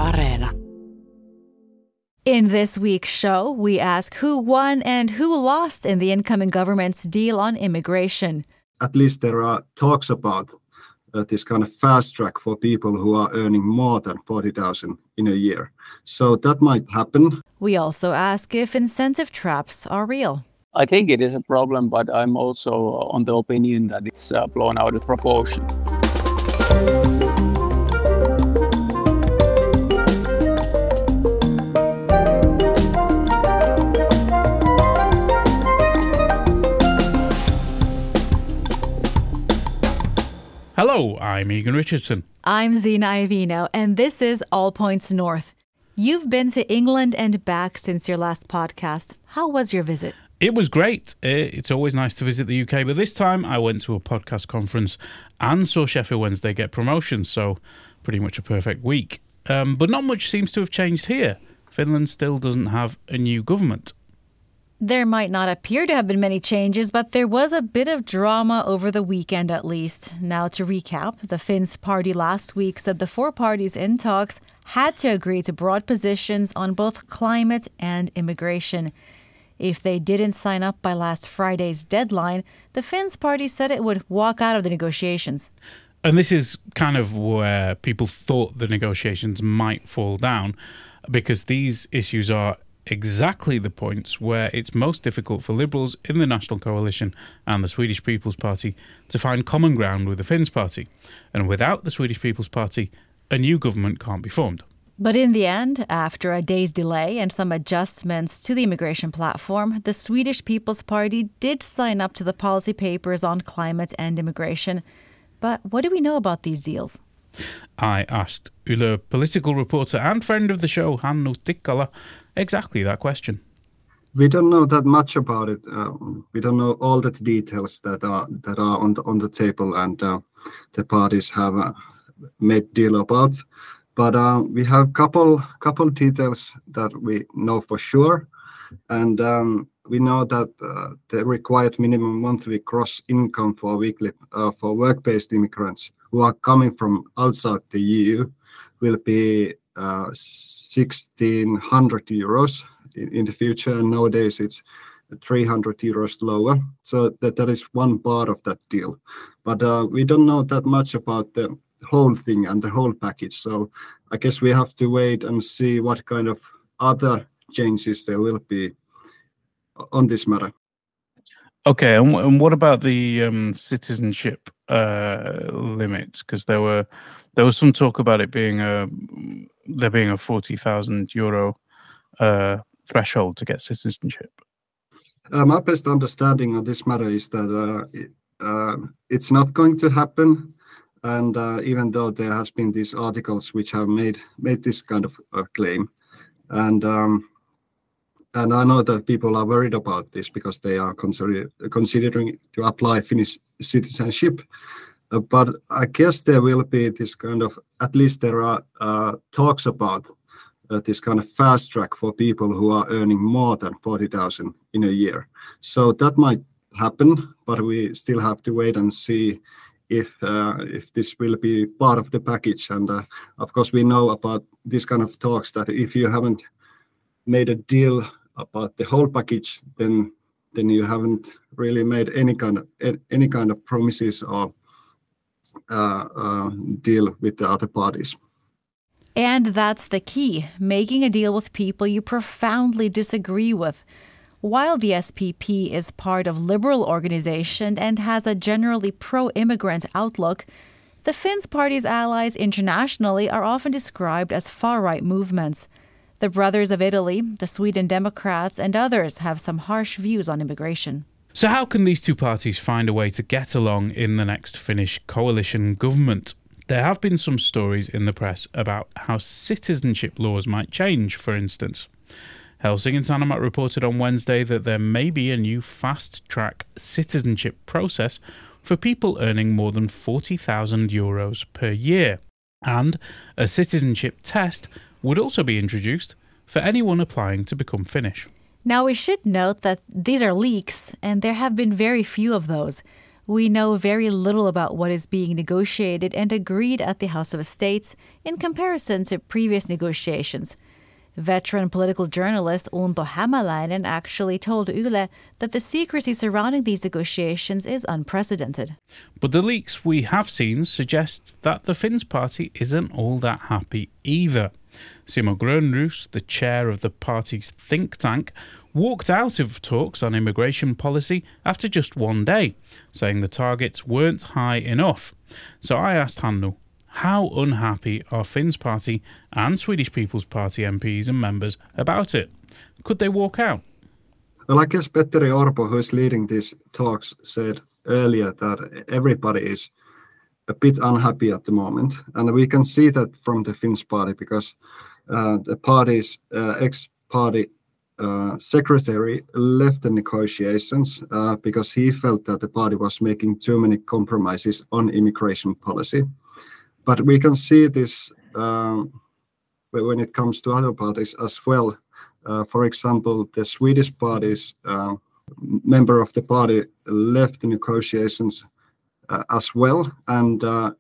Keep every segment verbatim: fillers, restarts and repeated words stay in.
Areena. In this week's show, we ask who won and who lost in the incoming government's deal on immigration. At least there are talks about uh, this kind of fast track for people who are earning more than forty thousand in a year. So that might happen. We also ask if incentive traps are real. I think it is a problem, but I'm also on the opinion that it's uh, blown out of proportion. Hello, I'm Egan Richardson. I'm Zina Iovino, and this is All Points North. You've been to England and back since your last podcast. How was your visit? It was great. It's always nice to visit the U K, but this time I went to a podcast conference and saw Sheffield Wednesday get promotion, so pretty much a perfect week. Um, but not much seems to have changed here. Finland still doesn't have a new government. There might not appear to have been many changes, but there was a bit of drama over the weekend at least. Now to recap, the Finns party last week said the four parties in talks had to agree to broad positions on both climate and immigration. If they didn't sign up by last Friday's deadline, the Finns party said it would walk out of the negotiations. And this is kind of where people thought the negotiations might fall down, because these issues are exactly the points where it's most difficult for Liberals in the National Coalition and the Swedish People's Party to find common ground with the Finns party. And without the Swedish People's Party, a new government can't be formed. But in the end, after a day's delay and some adjustments to the immigration platform, the Swedish People's Party did sign up to the policy papers on climate and immigration. But what do we know about these deals? I asked Yle political reporter and friend of the show, Hannu Tikkala, exactly that question. We don't know that much about it. Uh, we don't know all the details that are that are on the on the table, and uh, the parties have uh, made deal about. But uh, we have couple couple details that we know for sure, and um, we know that uh, the required minimum monthly gross income for weekly uh, for work-based immigrants who are coming from outside the E U will be uh, sixteen hundred euros in, in the future. And nowadays it's three hundred euros lower. So that, that is one part of that deal. But uh, we don't know that much about the whole thing and the whole package. So I guess we have to wait and see what kind of other changes there will be on this matter. Okay, and, and what about the um, citizenship uh, limits? Because there were there was some talk about it being a there being a forty thousand euro uh, threshold to get citizenship. Uh, my best understanding of this matter is that uh, it, uh, it's not going to happen, and uh, even though there has been these articles which have made made this kind of uh, claim, and. Um, And I know that people are worried about this because they are consider- considering to apply Finnish citizenship. Uh, but I guess there will be this kind of, at least there are uh, talks about uh, this kind of fast track for people who are earning more than forty thousand in a year. So that might happen, but we still have to wait and see if uh, if this will be part of the package. And uh, of course, we know about this kind of talks that if you haven't made a deal about the whole package, then then you haven't really made any kind of any kind of promises or uh, uh, deal with the other parties. And that's the key, making a deal with people you profoundly disagree with. While the S P P is part of liberal organization and has a generally pro-immigrant outlook, the Finns party's allies internationally are often described as far-right movements. The Brothers of Italy, the Sweden Democrats, and others have some harsh views on immigration. So how can these two parties find a way to get along in the next Finnish coalition government? There have been some stories in the press about how citizenship laws might change, for instance. Helsingin Sanomat reported on Wednesday that there may be a new fast-track citizenship process for people earning more than forty thousand euros per year. And a citizenship test would also be introduced for anyone applying to become Finnish. Now, we should note that these are leaks, and there have been very few of those. We know very little about what is being negotiated and agreed at the House of Estates in comparison to previous negotiations. Veteran political journalist Unto Hämäläinen actually told Yle that the secrecy surrounding these negotiations is unprecedented. But the leaks we have seen suggest that the Finns party isn't all that happy either. Simo Grönroos, the chair of the party's think tank, walked out of talks on immigration policy after just one day, saying the targets weren't high enough. So I asked Hannu, how unhappy are Finns party and Swedish People's Party M Ps and members about it? Could they walk out? Well, I guess Petteri Orpo, who is leading these talks, said earlier that everybody is a bit unhappy at the moment. And we can see that from the Finns party because uh, the party's uh, ex-party uh, secretary left the negotiations uh, because he felt that the party was making too many compromises on immigration policy. But we can see this um, when it comes to other parties as well. Uh, for example, the Swedish party's uh, member of the party left the negotiations uh, as well. And uh,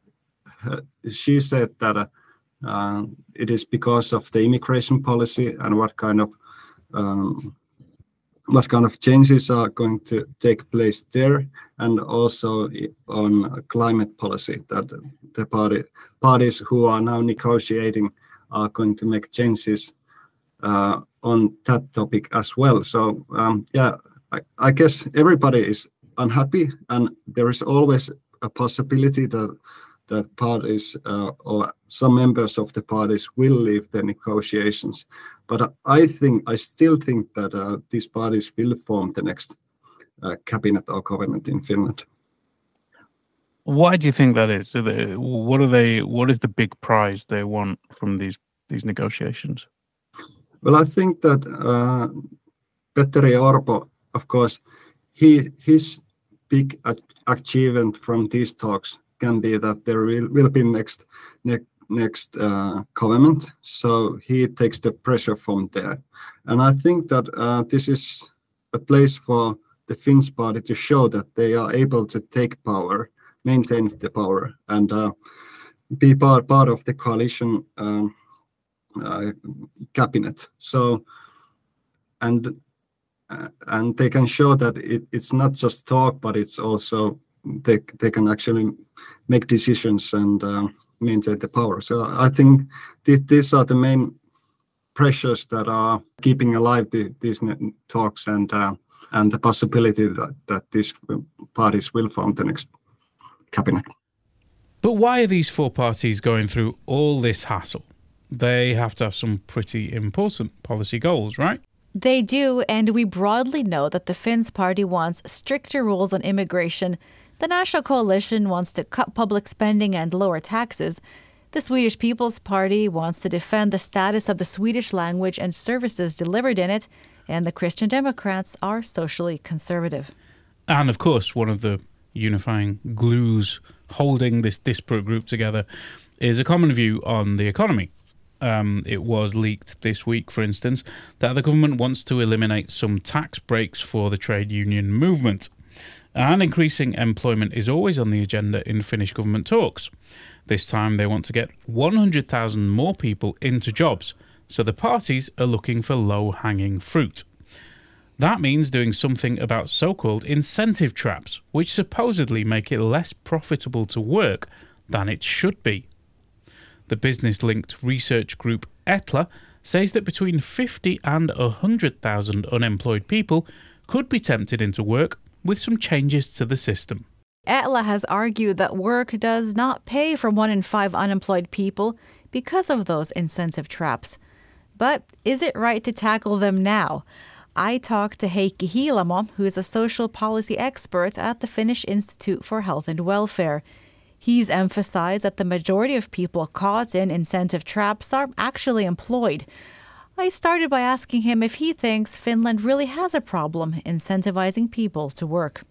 she said that uh, uh, it is because of the immigration policy and what kind of um, what kind of changes are going to take place there, and also on climate policy that the party parties who are now negotiating are going to make changes uh, on that topic as well. So um, yeah, I, I guess everybody is unhappy, and there is always a possibility that that parties uh, or some members of the parties will leave the negotiations. But I think, I still think that uh, these parties will form the next uh, cabinet or government in Finland. Why do you think that is? So they, what are they? What is the big prize they want from these these negotiations? Well, I think that uh, Petteri Orpo, of course, he his big achievement from these talks can be that there will, will be next next. next uh, government, so he takes the pressure from there. And I think that uh, this is a place for the Finns party to show that they are able to take power, maintain the power, and uh, be part, part of the coalition um, uh, cabinet. So, and uh, and they can show that it, it's not just talk, but it's also they they can actually make decisions and uh, maintain the power. So I think th- these are the main pressures that are keeping alive the, these talks and uh, and the possibility that, that these parties will form the next cabinet. But why are these four parties going through all this hassle? They have to have some pretty important policy goals, right? They do, and we broadly know that the Finns party wants stricter rules on immigration. The National Coalition wants to cut public spending and lower taxes. The Swedish People's Party wants to defend the status of the Swedish language and services delivered in it, and the Christian Democrats are socially conservative. And of course, one of the unifying glues holding this disparate group together is a common view on the economy. Um, it was leaked this week, for instance, that the government wants to eliminate some tax breaks for the trade union movement. And increasing employment is always on the agenda in Finnish government talks. This time they want to get one hundred thousand more people into jobs, so the parties are looking for low-hanging fruit. That means doing something about so-called incentive traps, which supposedly make it less profitable to work than it should be. The business-linked research group Etla says that between fifty and one hundred thousand unemployed people could be tempted into work with some changes to the system. Etla has argued that work does not pay for one in five unemployed people because of those incentive traps. But is it right to tackle them now? I talked to Heikki Hiilamo, who is a social policy expert at the Finnish Institute for Health and Welfare. He's emphasized that the majority of people caught in incentive traps are actually employed. I started by asking him if he thinks Finland really has a problem incentivizing people to work.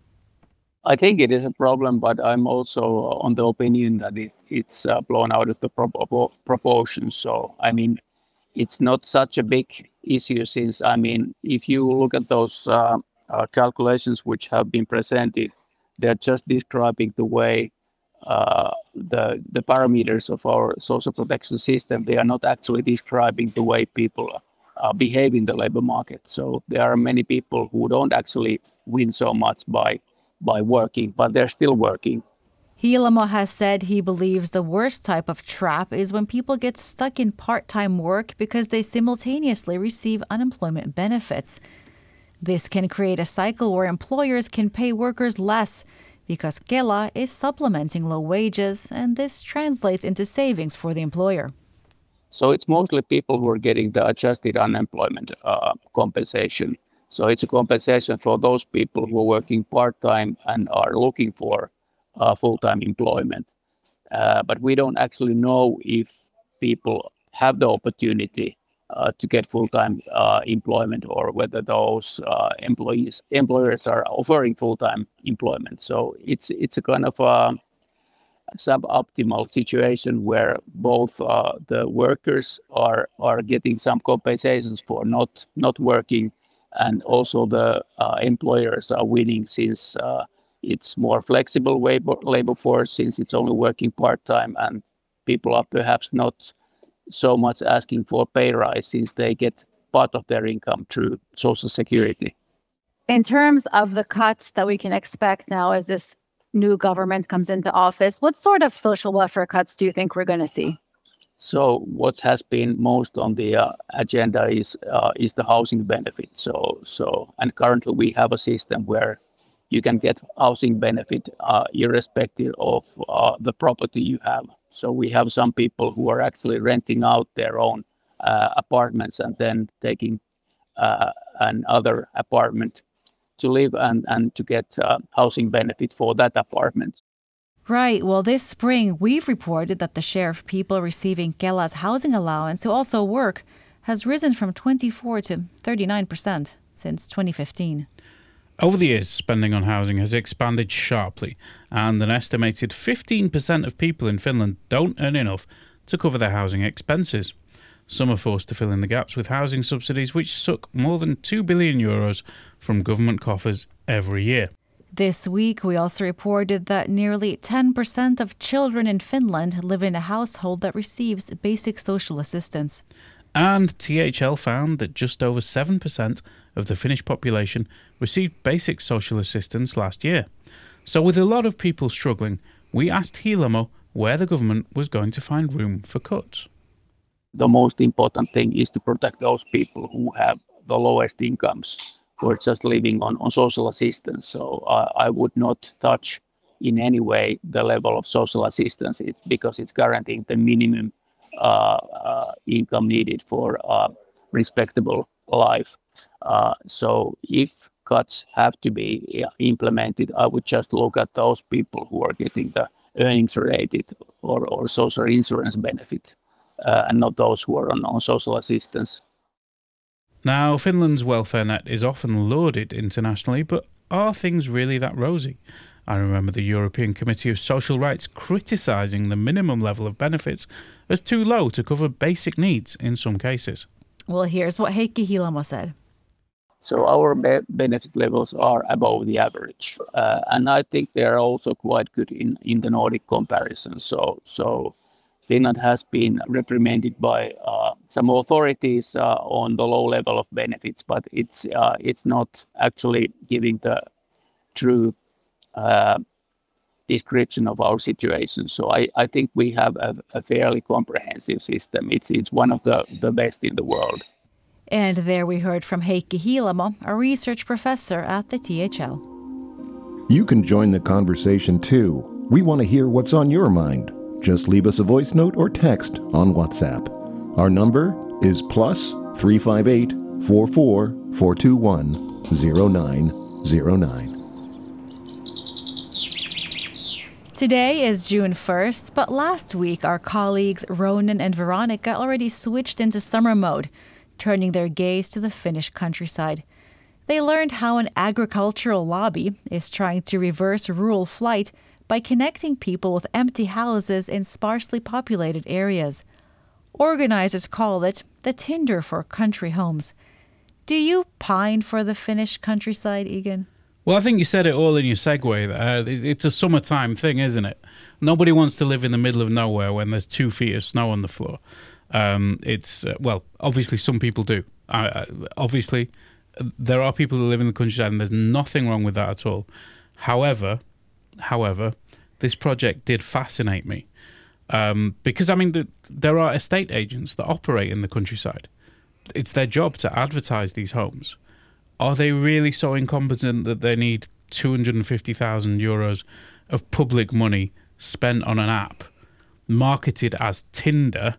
I think it is a problem, but I'm also on the opinion that it, it's uh, blown out of the pro- proportions. So, I mean, it's not such a big issue since, I mean, if you look at those uh, uh, calculations which have been presented, they're just describing the way uh, the the parameters of our social protection system. They are not actually describing the way people uh, behave in the labor market. So there are many people who don't actually win so much by by working, but they're still working. Hiilamo has said he believes the worst type of trap is when people get stuck in part-time work because they simultaneously receive unemployment benefits. This can create a cycle where employers can pay workers less because Kela is supplementing low wages, and this translates into savings for the employer. So it's mostly people who are getting the adjusted unemployment uh, compensation. So it's a compensation for those people who are working part-time and are looking for uh, full-time employment. Uh, but we don't actually know if people have the opportunity uh, to get full-time uh, employment, or whether those uh, employees employers are offering full-time employment. So it's it's a kind of a suboptimal situation where both uh, the workers are are getting some compensations for not not working, and also the uh, employers are winning since uh, it's more flexible labor, labor force, since it's only working part-time, and people are perhaps not so much asking for pay rise since they get part of their income through Social Security. In terms of the cuts that we can expect now as this new government comes into office, what sort of social welfare cuts do you think we're going to see? So what has been most on the uh, agenda is uh, is the housing benefit. So so and currently we have a system where you can get housing benefit uh, irrespective of uh, the property you have. So we have some people who are actually renting out their own uh, apartments and then taking uh, another apartment to live and, and to get uh, housing benefit for that apartment. Right. Well, this spring, we've reported that the share of people receiving Kela's housing allowance who also work has risen from twenty-four to thirty-nine percent since twenty fifteen. Over the years, spending on housing has expanded sharply, and an estimated fifteen percent of people in Finland don't earn enough to cover their housing expenses. Some are forced to fill in the gaps with housing subsidies, which suck more than two billion euros from government coffers every year. This week, we also reported that nearly ten percent of children in Finland live in a household that receives basic social assistance. And T H L found that just over seven percent of the Finnish population received basic social assistance last year. So with a lot of people struggling, we asked Hiilamo where the government was going to find room for cuts. The most important thing is to protect those people who have the lowest incomes, who are just living on, on social assistance. So uh, I would not touch in any way the level of social assistance it, because it's guaranteeing the minimum uh, uh, income needed for a respectable life. Uh, so if cuts have to be implemented, I would just look at those people who are getting the earnings related or, or social insurance benefit, uh, and not those who are on, on social assistance. Now, Finland's welfare net is often lauded internationally, but are things really that rosy? I remember the European Committee of Social Rights criticising the minimum level of benefits as too low to cover basic needs in some cases. Well, here's what Heikki Hiilamo said. So our be- benefit levels are above the average, uh, and I think they are also quite good in, in the Nordic comparison. So so Finland has been reprimanded by uh, some authorities uh, on the low level of benefits, but it's uh, it's not actually giving the true uh, description of our situation. So I, I think we have a, a fairly comprehensive system. It's it's one of the, the best in the world. And there we heard from Heikki Hiilamo, a research professor at the T H L. You can join the conversation too. We want to hear what's on your mind. Just leave us a voice note or text on WhatsApp. Our number is plus three five eight, four four, four two one, zero nine zero nine. Today is June first, but last week our colleagues Ronan and Veronica already switched into summer mode, turning their gaze to the Finnish countryside. They learned how an agricultural lobby is trying to reverse rural flight by connecting people with empty houses in sparsely populated areas. Organizers call it the Tinder for country homes. Do you pine for the Finnish countryside, Egan? Well, I think you said it all in your segue there. It's a summertime thing, isn't it? Nobody wants to live in the middle of nowhere when there's two feet of snow on the floor. Um, it's, uh, well, obviously some people do. Uh, obviously, there are people who live in the countryside and there's nothing wrong with that at all. However, however, this project did fascinate me. Um, because, I mean, the, there are estate agents that operate in the countryside. It's their job to advertise these homes. Are they really so incompetent that they need two hundred fifty thousand euros of public money spent on an app marketed as Tinder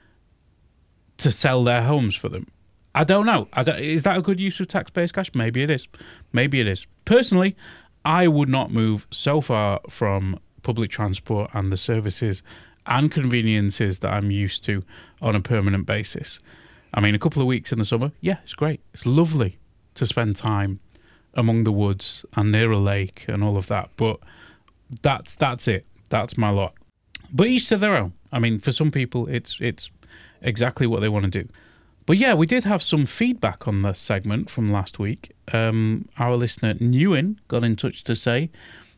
to sell their homes for them? I don't know. I don't, is that a good use of taxpayers' cash? Maybe it is. Maybe it is. Personally, I would not move so far from public transport and the services and conveniences that I'm used to on a permanent basis. I mean, a couple of weeks in the summer, yeah, it's great. It's lovely to spend time among the woods and near a lake and all of that. But that's that's it. That's my lot. But each to their own. I mean, for some people, it's it's exactly what they want to do. But yeah, we did have some feedback on this segment from last week. Um, our listener, Newen, got in touch to say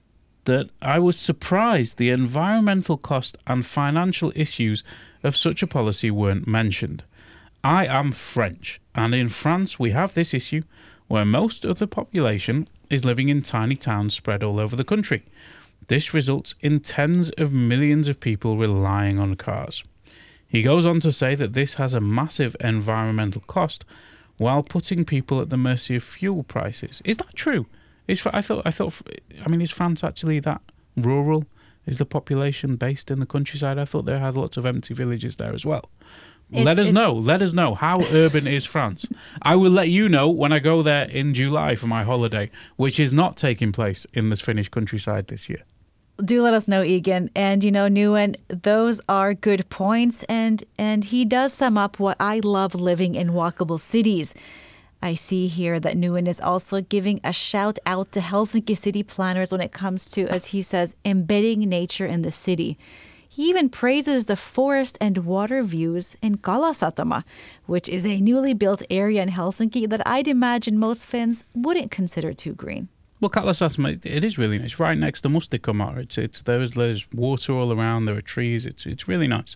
that I was surprised the environmental cost and financial issues of such a policy weren't mentioned. I am French, and in France we have this issue where most of the population is living in tiny towns spread all over the country. This results in tens of millions of people relying on cars. He goes on to say that this has a massive environmental cost while putting people at the mercy of fuel prices. Is that true? Is I thought I thought I mean is France actually that rural? Is the population based in the countryside? I thought they had lots of empty villages there as well. It's, let us know. Let us know. How urban is France? I will let you know when I go there in July for my holiday, which is not taking place in the Finnish countryside this year. Do let us know, Egan. And, you know, Newen, those are good points. And, and he does sum up what I love living in walkable cities. I see here that Newen is also giving a shout out to Helsinki city planners when it comes to, as he says, embedding nature in the city. He even praises the forest and water views in Kalasatama, which is a newly built area in Helsinki that I'd imagine most Finns wouldn't consider too green. Well, Kalasatama, it is really nice. Right next to Mustakamar. It's it's there's there's water all around. There are trees. It's it's really nice.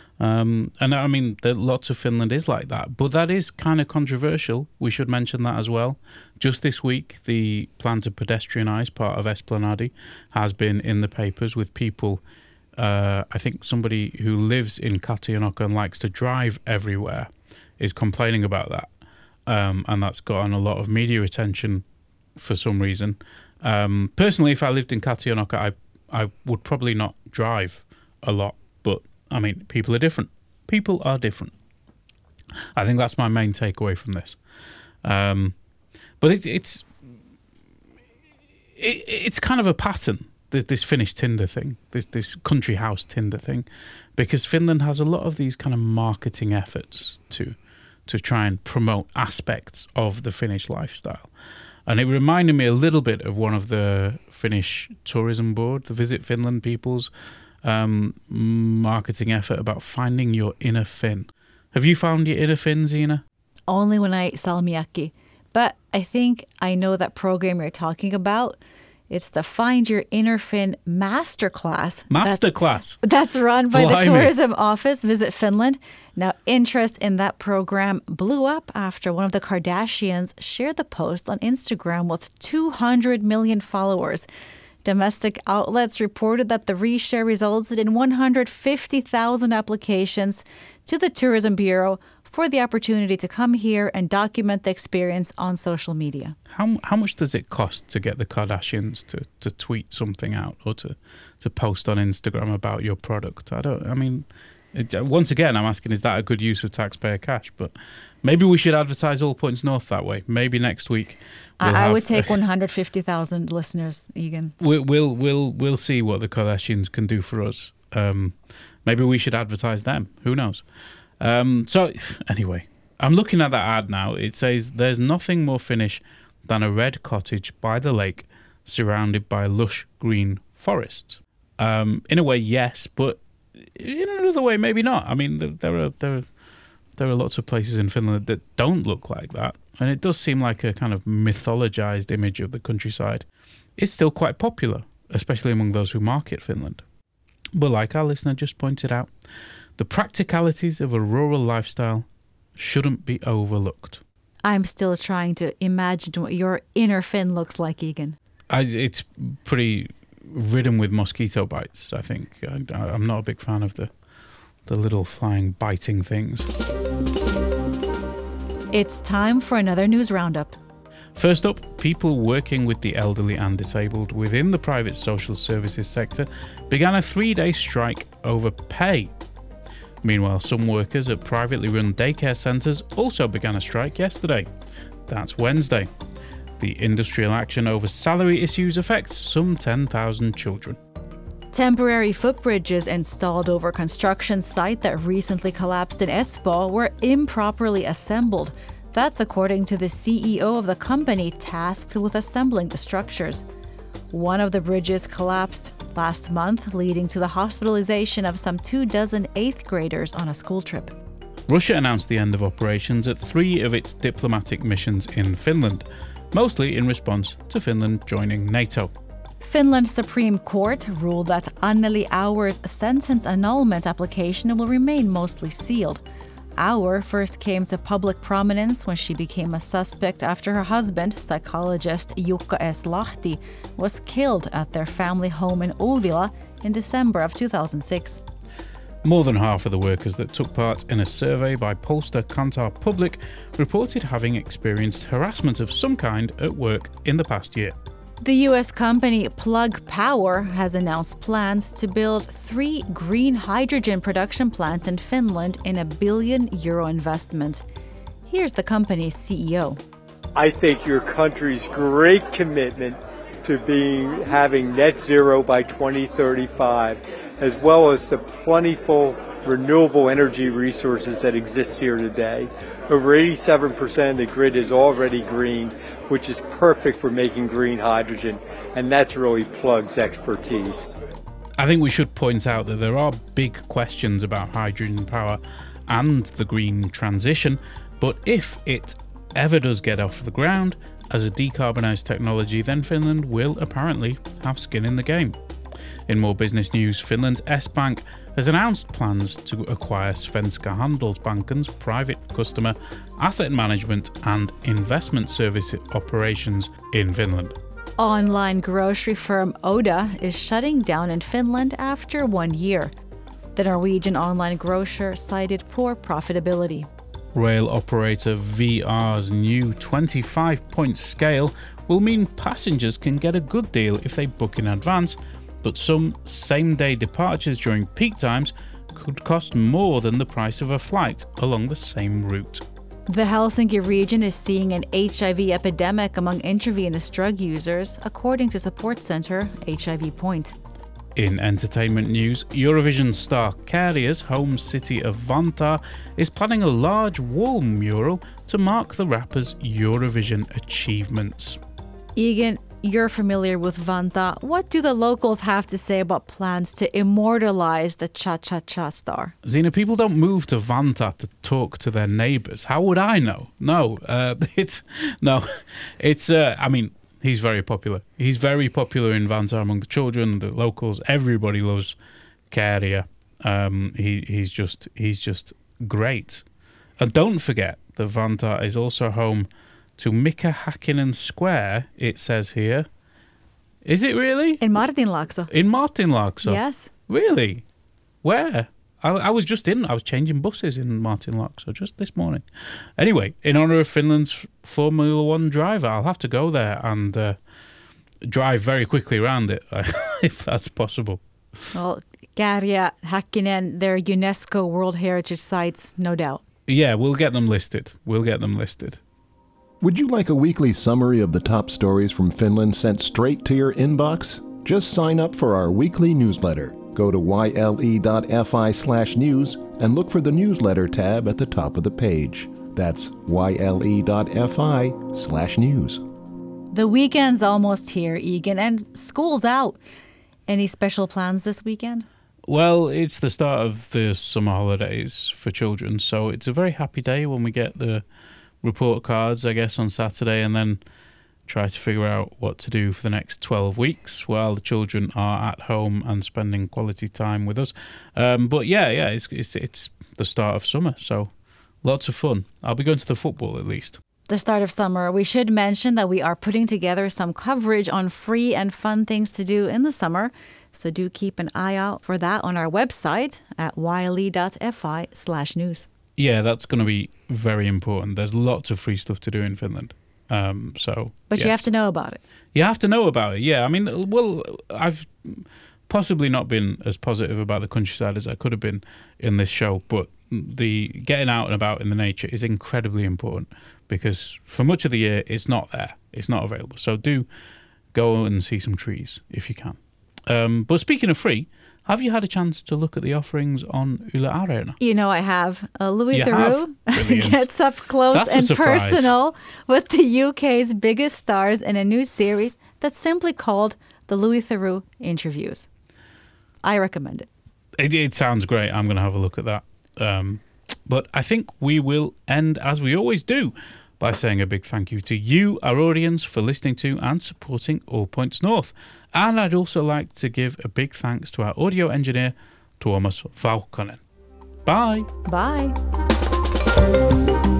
Um, and I mean, there, lots of Finland is like that, but that is kind of controversial. We should mention that as well. Just this week, the plan to pedestrianise part of Esplanadi has been in the papers with people. Uh, I think somebody who lives in Katianoka and likes to drive everywhere is complaining about that. Um, and that's gotten a lot of media attention for some reason. Um, personally, if I lived in Katianoka, I, I would probably not drive a lot. But, I mean, people are different. People are different. I think that's my main takeaway from this. Um, but it's, it's, it, it's kind of a pattern. This Finnish Tinder thing, this this country house Tinder thing, because Finland has a lot of these kind of marketing efforts to to try and promote aspects of the Finnish lifestyle. And it reminded me a little bit of one of the Finnish tourism board, the Visit Finland people's um, marketing effort about finding your inner Finn. Have you found your inner Finn, Zena? Only when I eat salmiakki. But I think I know that program you're talking about. It's the Find Your Inner Finn Masterclass. Masterclass. That's, that's run by Blimey. the tourism office, Visit Finland. Now, interest in that program blew up after one of the Kardashians shared the post on Instagram with two hundred million followers. Domestic outlets reported that the reshare resulted in one hundred fifty thousand applications to the Tourism Bureau for the opportunity to come here and document the experience on social media. How how much does it cost to get the Kardashians to, to tweet something out or to, to post on Instagram about your product? I don't, I mean, it, once again, I'm asking, is that a good use of taxpayer cash? But maybe we should advertise All Points North that way. Maybe next week. We'll I, I have, would take one hundred fifty thousand listeners, Egan. We'll, we'll, we'll, we'll see what the Kardashians can do for us. Um, maybe we should advertise them. Who knows? Um, so anyway, I'm looking at that ad now. It says there's nothing more Finnish than a red cottage by the lake surrounded by lush green forests. Um, in a way, yes, but in another way, maybe not. I mean, there, there are there are There are lots of places in Finland that don't look like that, and it does seem like a kind of mythologized image of the countryside. It's still quite popular, especially among those who market Finland. But like our listener just pointed out, the practicalities of a rural lifestyle shouldn't be overlooked. I'm still trying to imagine what your inner Finn looks like, Egan. I, it's pretty ridden with mosquito bites, I think. I, I'm not a big fan of the the little flying biting things. It's time for another news roundup. First up, people working with the elderly and disabled within the private social services sector began a three-day strike over pay. Meanwhile, some workers at privately run daycare centres also began a strike yesterday. That's Wednesday. The industrial action over salary issues affects some ten thousand children. Temporary footbridges installed over construction site that recently collapsed in Espoo were improperly assembled. That's according to the C E O of the company tasked with assembling the structures. One of the bridges collapsed last month, leading to the hospitalization of some two dozen eighth graders on a school trip. Russia announced the end of operations at three of its diplomatic missions in Finland, mostly in response to Finland joining NATO. Finland's Supreme Court ruled that Anneli Auer's sentence annulment application will remain mostly sealed. Auer first came to public prominence when she became a suspect after her husband, psychologist Jukka S. Lahti, was killed at their family home in Ulvila in December of two thousand six. More than half of the workers that took part in a survey by pollster Kantar Public reported having experienced harassment of some kind at work in the past year. The U S company Plug Power has announced plans to build three green hydrogen production plants in Finland in a billion euro investment. Here's the company's C E O. I think your country's great commitment to being having net zero by twenty thirty-five, as well as the plentiful renewable energy resources that exist here today. Over eighty-seven percent of the grid is already green, which is perfect for making green hydrogen, and that's really Plug's expertise. I think we should point out that there are big questions about hydrogen power and the green transition, but if it ever does get off the ground as a decarbonised technology, then Finland will apparently have skin in the game. In more business news, Finland's S-Bank has announced plans to acquire Svenska Handelsbanken's private customer asset management and investment service operations in Finland. Online grocery firm Oda is shutting down in Finland after one year. The Norwegian online grocer cited poor profitability. Rail operator V R's new twenty-five point scale will mean passengers can get a good deal if they book in advance, but some same-day departures during peak times could cost more than the price of a flight along the same route. The Helsinki region is seeing an H I V epidemic among intravenous drug users, according to support center H I V Point. In entertainment news, Eurovision star Käärijä's home city of Vantaa is planning a large wall mural to mark the rapper's Eurovision achievements. Egan, you're familiar with Vantaa. What do the locals have to say about plans to immortalize the cha-cha-cha star? Zena, people don't move to Vantaa to talk to their neighbours. How would I know? No, uh, it's no, it's. Uh, I mean, he's very popular. He's very popular in Vantaa among the children, the locals. Everybody loves Käärijä. Um, he he's just he's just great. And don't forget that Vantaa is also home to Mika Häkkinen Square, it says here. Is it really? In Martinlaakso. In Martinlaakso? Yes. Really? Where? I, I was just in, I was changing buses in Martinlaakso just this morning. Anyway, in honour of Finland's Formula One driver, I'll have to go there and uh, drive very quickly around it, if that's possible. Well, Käärijä, Häkkinen, they're UNESCO World Heritage Sites, no doubt. Yeah, we'll get them listed. We'll get them listed. Would you like a weekly summary of the top stories from Finland sent straight to your inbox? Just sign up for our weekly newsletter. Go to yle.fi slash news and look for the newsletter tab at the top of the page. That's yle.fi slash news. The weekend's almost here, Egan, and school's out. Any special plans this weekend? Well, it's the start of the summer holidays for children, so it's a very happy day when we get the report cards, I guess, on Saturday, and then try to figure out what to do for the next twelve weeks while the children are at home and spending quality time with us. Um, but yeah, yeah, it's, it's it's the start of summer, so lots of fun. I'll be going to the football at least. The start of summer, we should mention that we are putting together some coverage on free and fun things to do in the summer. So do keep an eye out for that on our website at yle.fi slash news. Yeah, that's going to be very important. There's lots of free stuff to do in Finland. Um, so, But yes. you have to know about it. You have to know about it, yeah. I mean, well, I've possibly not been as positive about the countryside as I could have been in this show, but the getting out and about in the nature is incredibly important because for much of the year, it's not there. It's not available. So do go and see some trees if you can. Um, but speaking of free, have you had a chance to look at the offerings on Yle Areena? You know I have. Uh, Louis You Theroux have? gets up close That's a and surprise. personal with the U K's biggest stars in a new series that's simply called The Louis Theroux Interviews. I recommend it. It, it sounds great. I'm going to have a look at that. Um, but I think we will end, as we always do, by saying a big thank you to you, our audience, for listening to and supporting All Points North. And I'd also like to give a big thanks to our audio engineer, Tuomas Vauhkonen. Bye. Bye.